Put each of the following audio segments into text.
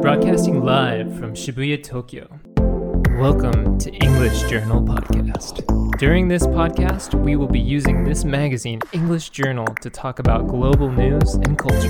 Broadcasting live from Shibuya, Tokyo. Welcome to English Journal Podcast. During this podcast, we will be using this magazine, English Journal, to talk about global news and culture.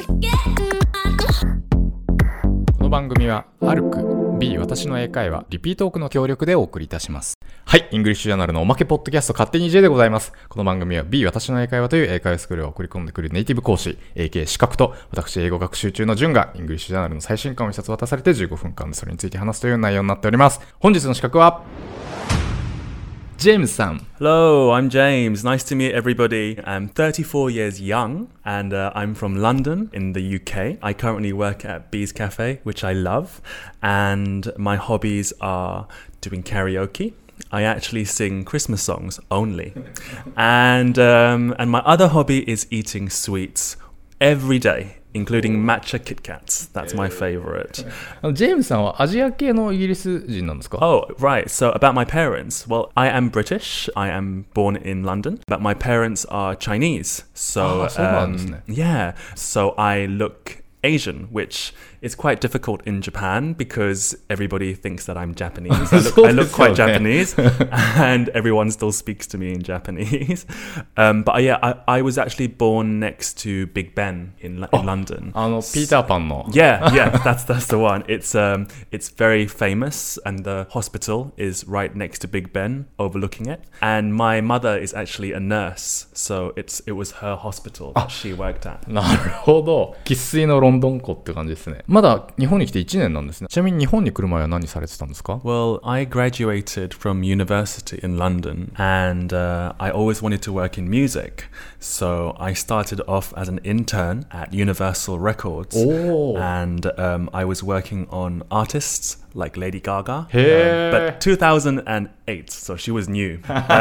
この番組はアルク B 私の英会話リピートークの協力でお送りいたします。はい、イングリッシュジャーナルのおまけポッドキャスト勝手に J でございます。この番組は B 私の英会話という英会話スクールを送り込んでくるネイティブ講師 AK 資格と私英語学習中のジュンがイングリッシュジャーナルの最新刊を一冊渡されて15分間でそれについて話すという内容になっております。本日の資格はジェームズさん。 Hello, I'm James. Nice to meet everybody. I'm 34 years young and I'm from London in the UK. I currently work at Bees Cafe, which I love, and my hobbies are doing karaoke. I actually sing Christmas songs only. And my other hobby is eating sweets every day.Including matcha Kit Kats. That's my favorite. ジェームズさんはアジア系のイギリス人なんですか? Oh, right. So about my parents. Well, I am British. I am born in London. But my parents are Chinese. So, yeah. So I look Asian, which is quite difficult in Japan because everybody thinks that I'm Japanese. I look quite Japanese and everyone still speaks to me in Japanese. But yeah, I was actually born next to Big Ben in London. ピーターパンの Yeah, that's the one. It's very famous and the hospital is right next to Big Ben overlooking it. And my mother is actually a nurse. So it was her hospital that she worked at. なるほど。生粋のロンドン子って感じですね。まだ日本に来て1年なんですね。ちなみに日本に来る前は何されてたんですか? Well, I graduated from university in London and I always wanted to work in music. So I started off as an intern at Universal Records. And I was working on artists like Lady Gaga. But 2008, so she was new.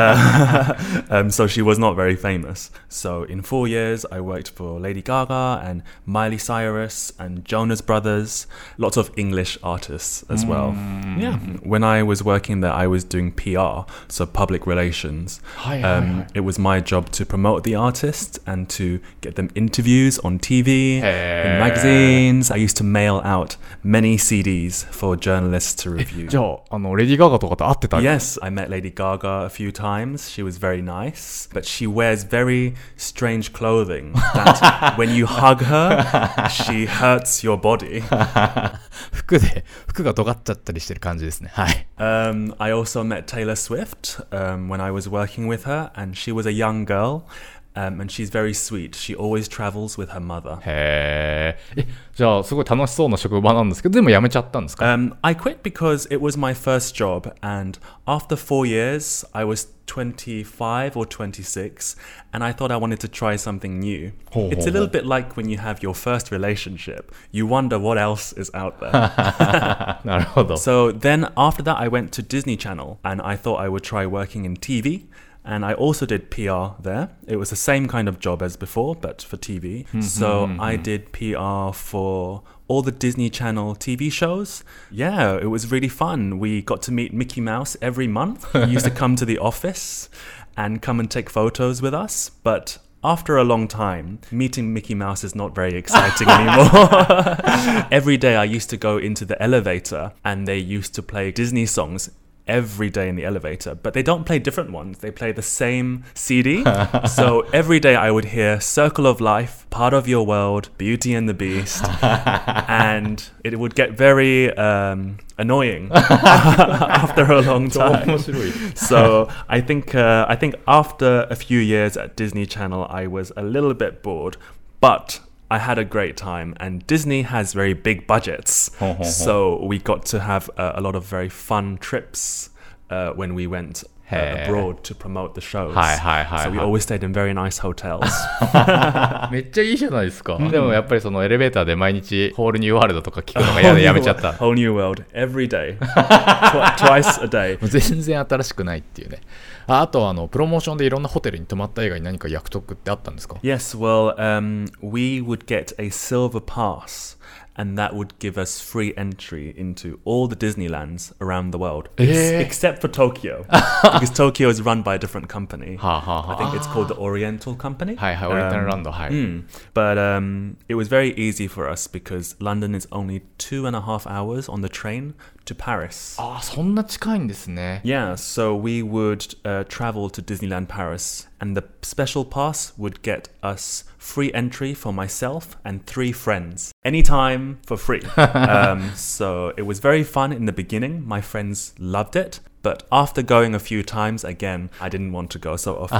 So she was not very famous. So in 4 years, I worked for Lady Gaga and Miley Cyrus and Jonas Brothers, lots of English artists as well. Yeah. When I was working there, I was doing PR, so public relations. It was my job to promote the artists and to get them interviews on TV, in magazines. I used to mail out many CDs for journalists to review. じゃあ、レディー・ガガとかと会ってた? Yes, I met Lady Gaga a few times. She was very nice, but she wears very strange clothing that when you hug her, she hurts your body. 服が尖っちゃったりしてる感じですね。はい。 I also met Taylor Swift when I was working with her, and she was a young girl.And she's very sweet. She always travels with her mother. へー。じゃあすごい楽しそうな職場なんですけど、でも辞めちゃったんですか? I quit because it was my first job, and after 4 years, I was 25 or 26, and I thought I wanted to try something new. It's a little bit like when you have your first relationship. You wonder what else is out there. なるほど。 So then after that, I went to Disney Channel, and I thought I would try working in TV.And I also did PR there. It was the same kind of job as before, but for TV. So I did PR for all the Disney Channel TV shows. Yeah, it was really fun. We got to meet Mickey Mouse every month. He used to come to the office and come and take photos with us. But after a long time, meeting Mickey Mouse is not very exciting anymore. Every day I used to go into the elevator and they used to play Disney songs.Every day in the elevator, but they don't play different ones. They play the same CD. So every day I would hear Circle of Life, Part of Your World, Beauty and the Beast, and it would get very annoying after a long time. So I think after a few years at Disney Channel, I was a little bit bored, but.I had a great time, and Disney has very big budgets, so we got to have a lot of very fun trips when we went abroad to promote the shows. So we always stayed in very nice hotels. めっちゃいいじゃないですか。でもやっぱりそのエレベーターで毎日ホールニューワールドとか聞くのが嫌でやめちゃった。 Whole New World every day, twice a day. 全然新しくないっていうね。あとプロモーションでいろんなホテルに泊まった以外に何か約束ってあったんですか? Yes, well, we would get a silver pass, and that would give us free entry into all the Disneylands around the world, except for Tokyo, because Tokyo is run by a different company. I think it's called the Oriental Company. はいはい、オリエンタルランド、はい。 But it was very easy for us because London is only 2.5 hours on the train to Paris. ああ、そんな近いんですね。 Yeah, so we would travel to Disneyland Paris, and the special pass would get us free entry for myself and 3 friends, anytime for free. So it was very fun in the beginning. My friends loved it. But after going a few times, again, I didn't want to go so often.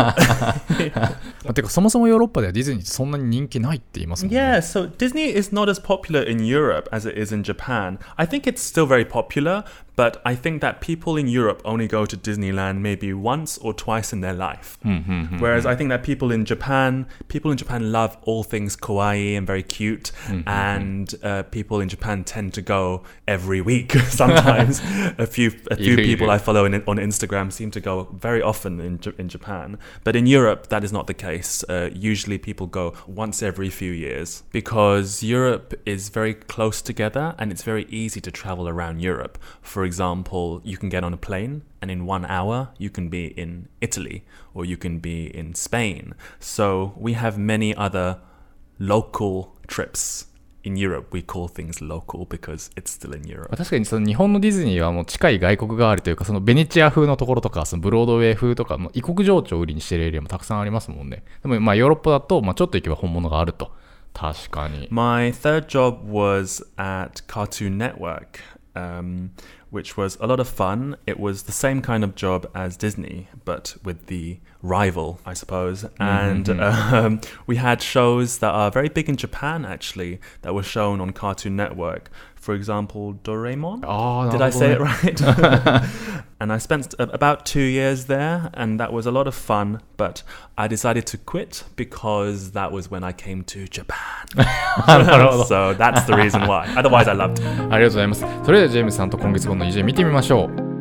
てかそもそもヨーロッパではディズニーってそんなに人気ないって言いますもんね。 Yeah, so Disney is not as popular in Europe as it is in Japan. I think it's still very popular, but I think that people in Europe only go to Disneyland maybe once or twice in their life. Whereas I think that people in Japan love all things kawaii and very cute, and people in Japan tend to go every week. Sometimes a few people I follow on Instagram seem to go very often in Japan. But in Europe, that is not the case. Usually people go once every few years because Europe is very close together and it's very easy to travel around Europe. For example, you can get on a plane and in 1 hour you can be in Italy or you can be in Spain. So we have many other local trips.In Europe, we call things local because it's still in Europe. 確かにその日本のディズニーはもう近い外国があるというか、そのベネチア風のところとか、そのブロードウェイ風とか、異国情緒を売りにしているエリアもたくさんありますもんね。でもまあヨーロッパだと、まあちょっと行けば本物があると。確かに。 My third job was at Cartoon Network, which was a lot of fun. It was the same kind of job as Disney, but with the rival, I suppose. And we had shows that are very big in Japan, actually, that were shown on Cartoon Network. For example, Doraemon. Did I say it right? And I spent about 2 years there, and that was a lot of fun. But I decided to quit because that was when I came to Japan. So that's the reason why. Otherwise, I loved it. ありがとうございます。それではジェームスさんと今月号の偉人見てみましょう。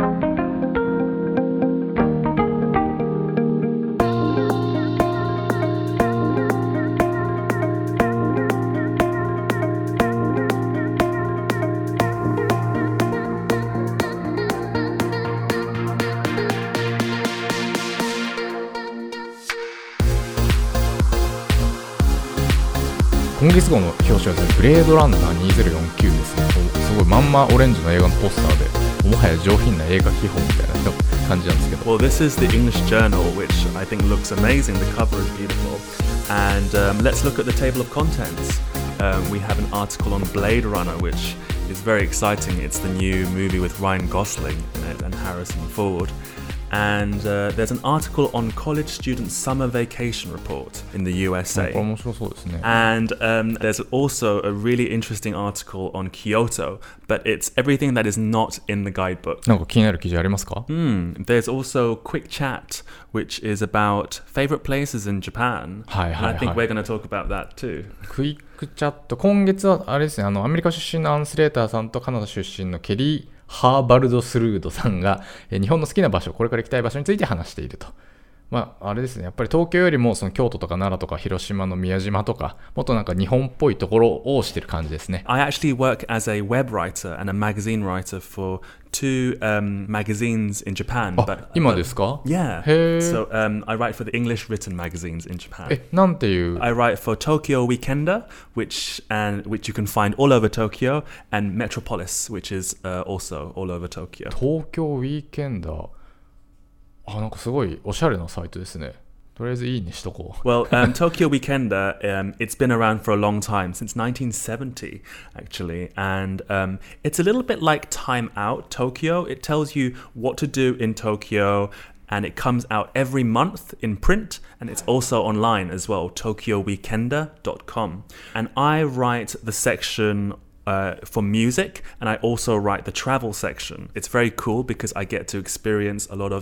今月号の表紙はですね、ブレードランナー2049ですね。すごいまんまオレンジの映画のポスターで、もはや上品な映画基本みたいな感じなんですけど。 Well, this is the English Journal, which I think looks amazing. The cover is beautiful. And let's look at the table of contents. We have an article on Blade Runner, which is very exciting. It's the new movie with Ryan Gosling in it and Harrison Ford.And there's an article on college students' summer vacation report in the USA. 面白そうですね。 And there's also a really interesting article on Kyoto, but it's everything that is not in the guidebook. なんか気になる記事ありますか ？There's also Quick Chat, which is about favorite places in Japan. はいはいはい。 And I think we're going to talk about that too. クイックチャット、今月はあれですね、アメリカ出身のアンスレーターさんとカナダ出身のケリー・ハーバルド・スルードさんが日本の好きな場所、これから行きたい場所について話していると。まあ、あれですね、やっぱり東京よりもその京都とか奈良とか広島の宮島とか、もっとなんか日本っぽいところをしてる感じですね。 I actually work as a web writer and a magazine writer for two magazines in Japan. 今ですか？ Yeah. へー。 So I write for the English written magazines in Japan. なんていう？ I write for Tokyo Weekender, which you can find all over Tokyo, and Metropolis, which is also all over Tokyo. 東京ウィーケンダー。なんかすごいおしゃれなサイトですね。とりあえずいいにしとこう。 Well, Tokyo Weekender, it's been around for a long time, since 1970, actually. And it's a little bit like Time Out Tokyo. It tells you what to do in Tokyo, and it comes out every month in print, and it's also online as well, tokyoweekender.com. And I write the section for music, and I also write the travel section. It's very cool because I get to experience a lot of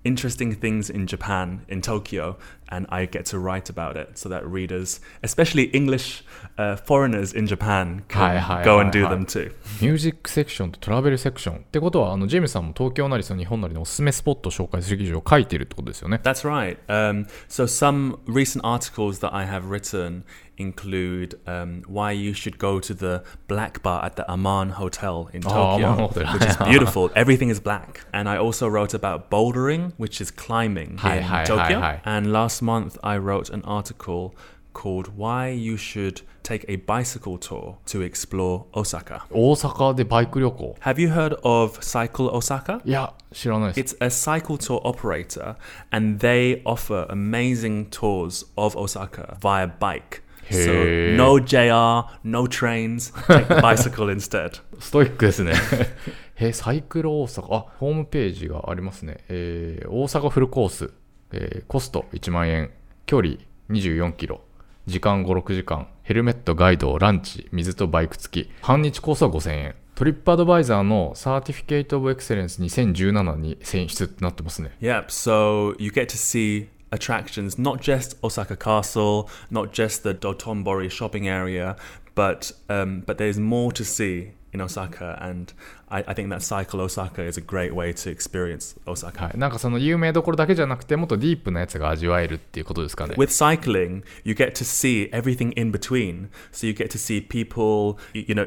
interesting things in Japan, in Tokyo, and I get to write about it so that readers, especially English foreigners in Japan, can go and do them too. ミュージックセクションとトラベルセクションってことは、ジェームスさんも東京なりその日本なりのおすすめスポットを紹介する記事を書いているってことですよね。 That's right. So some recent articles that I have written include why you should go to the black bar at the Aman Hotel in Tokyo, which is beautiful. Everything is black. And I also wrote about bouldering, which is climbing in Tokyo. And last month I wrote an article called Why You Should Take a Bicycle Tour to Explore Osaka. 大阪でバイク旅行。 Have you heard of Cycle Osaka? いや、知らないです。 It's a cycle tour operator, and they offer amazing tours of Osaka via bike. So no JR, no trains, take the bicycle instead. ストイックですね。サイクル大阪。あ、ホームページがありますね。大阪フルコース。コスト1万円。距離24キロ。時間5、6時間。ヘルメット、ガイド、ランチ、水とバイク付き。半日コースは5000円。トリップアドバイザーのサーティフィケートオブエクセレンス2017に選出ってなってますね。 Yep, so you get to see attractions, not just Osaka Castle, not just the Dotonbori shopping area, but there's more to see in Osaka, and I think that Cycle Osaka is a great way to experience Osaka. はい、なんかその有名どころだけじゃなくてもっとディープなやつが味わえるっていうことですかね。 With cycling, you get to see everything in between. So you get to see people,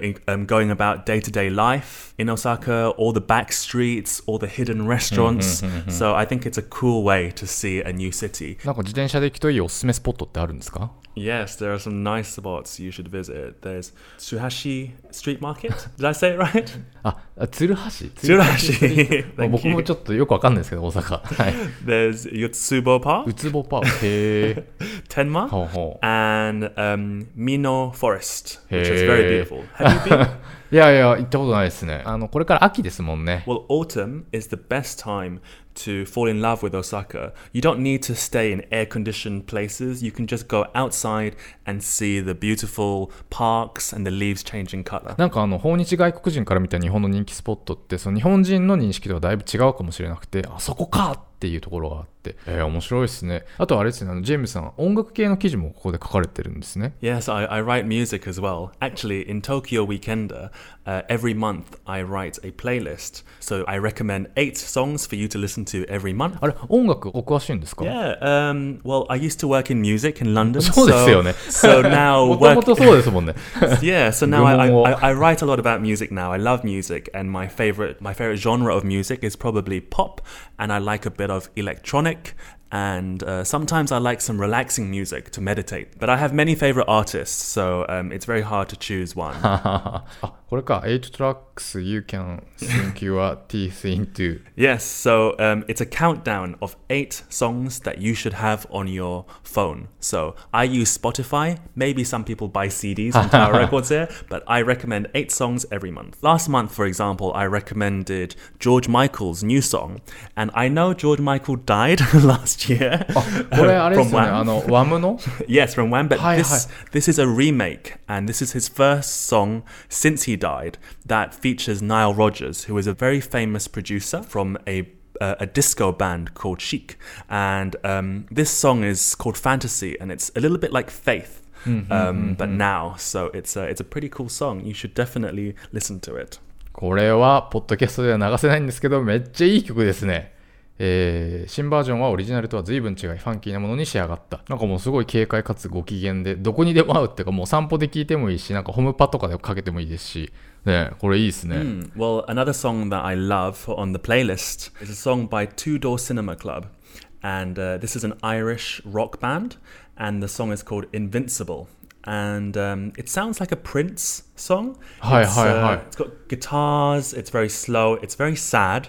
going about day-to-day life in Osaka, all the back streets, all the hidden restaurants. So I think it's a cool way to see a new city. なんか自転車で行くといいおすすめスポットってあるんですか？ Yes, there are some nice spots you should visit. There's Tsuhashi Street Market. Did I say it right? 鶴橋僕もちょっとよくわかんないですけど、大阪。はい、 There's Yotsubo Park. うつぼパーク。へー。 Tenma. ほうほう。 And Mino Forest, which is very beautiful. Have you been? いやいや、行ったことないですね。これから秋ですもんね。 Well, autumn is the best time to fall in love with Osaka. You don't need to stay in air-conditioned places. You can just go outside and see the beautiful parks and the leaves changing color. なんか訪日外国人から見た日本の人気スポットってその日本人の認識とはだいぶ違うかもしれなくて、あそこかっていうところがあって、面白いですね。あとあれですね、ジェームスさん音楽系の記事もここで書かれてるんですね。 Yes, I write music as well. Actually, in Tokyo Weekender, every month I write a playlist. So I recommend 8 songs for you to listen to every month. あれ、音楽お詳しいんですか？ Yeah, well, I used to work in music in London. そうですよね。 So now もともとそうですもんね。 Yeah, so now I write a lot about music now. I love music, and my favorite genre of music is probably pop, and I like a bit of electronic, and sometimes I like some relaxing music to meditate. But I have many favorite artists, so it's very hard to choose one. これか、8 tracks you can sink your teeth into. Yes, so it's a countdown of 8 songs that you should have on your phone. So I use Spotify. Maybe some people buy CDs on Tower Records here, but I recommend 8 songs every month. Last month, for example, I recommended George Michael's new song. And I know George Michael died last year. これあれですよね、Wham の? Yes, from Wham, but this is a remake, and this is his first song since he died that features Nile Rodgers, who is a very famous producer from a disco band called Chic. And this song is called Fantasy, and it's a little bit like Faith, but now. So it's a pretty cool song. You should definitely listen to it. これはポッドキャストでは流せないんですけど、めっちゃいい曲ですね。新バージョンはオリジナルとは随分違いファンキーなものに仕上がった。なんかもうすごい軽快かつご機嫌で、どこにでも合うっていうか、もう散歩で聴いてもいいし、なんかホームパとかでかけてもいいですし、ね、これいいですね。 Well, another song that I love on the playlist is a song by Two Door Cinema Club, and this is an Irish rock band, and the song is called Invincible. And it sounds like a Prince song. It's got guitars, it's very slow, it's very sad,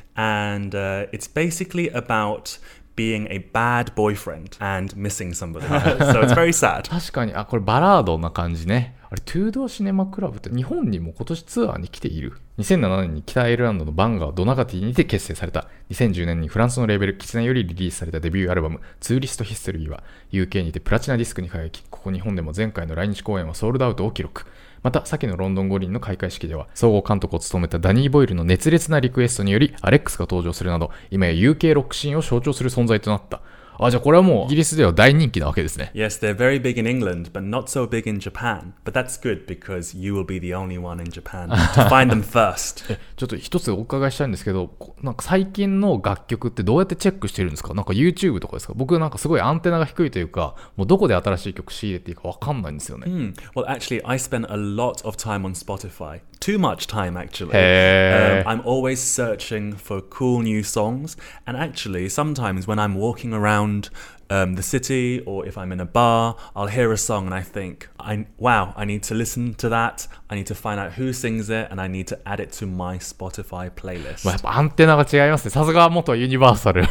and it's basically about being a bad boyfriend and missing somebody. So it's very sad. 確かに、これバラードな感じね。あれ、トゥードーシネマクラブって日本にも今年ツアーに来ている。2007年に北アイルランドのバンガードナガティにて結成された。2010年にフランスのレーベルキツネよりリリースされたデビューアルバムツーリストヒストリーは UK にてプラチナディスクに輝き、ここ日本でも前回の来日公演はソールドアウトを記録。 また、先のロンドン五輪の開会式では、総合監督を務めたダニー・ボイルの熱烈なリクエストにより、アレックスが登場するなど、今や UK ロックシーンを象徴する存在となった。じゃあこれはもうイギリスでは大人気なわけですね。 Yes, they're very big in England, but not so big in Japan. But that's good because you will be the only one in Japan to find them first. ちょっと一つお伺いしたいんですけど、なんか最近の楽曲ってどうやってチェックしてるんですか？なんか YouTube とかですか？僕なんかすごいアンテナが低いというか、もうどこで新しい曲仕入れていいかわかんないんですよね。 Well, actually, I spend a lot of time on Spotify. Too much time, actually. I'm always searching for cool new songs. And actually, sometimes when I'm walking around the city or if I'm in a bar, I'll hear a song and I think, wow, I need to listen to that. I need to find out who sings it and I need to add it to my Spotify playlist. やっぱアンテナが違いますね。さすが元ユニバーサル。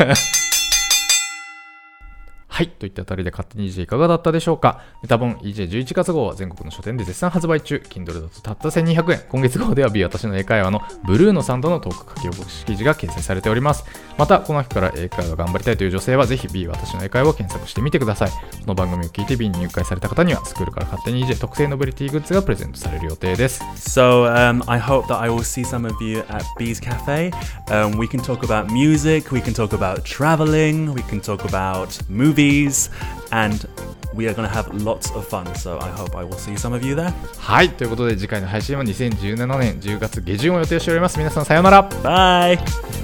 はい。といったあたりで勝手に EJ いかがだったでしょうか。メタボン EJ11 月号は全国の書店で絶賛発売中。Kindle だとたった1200円。今月号では B 私の英会話のブルーノさんとのトーク書き起こし記事が掲載されております。また、この秋から英会話頑張りたいという女性はぜひ B 私の英会話を検索してみてください。この番組を聞いて B に入会された方にはスクールから勝手に EJ 特製ノベルティグッズがプレゼントされる予定です。 So, I hope that I will see some of you at B's Cafe. We can talk about music, we can talk about traveling, we can talk about movies.And we are going to have lots of fun, so I hope I will see some of you there. はい、ということで次回の配信は2017年10月下旬を予定しております。皆さんさようなら。 Bye!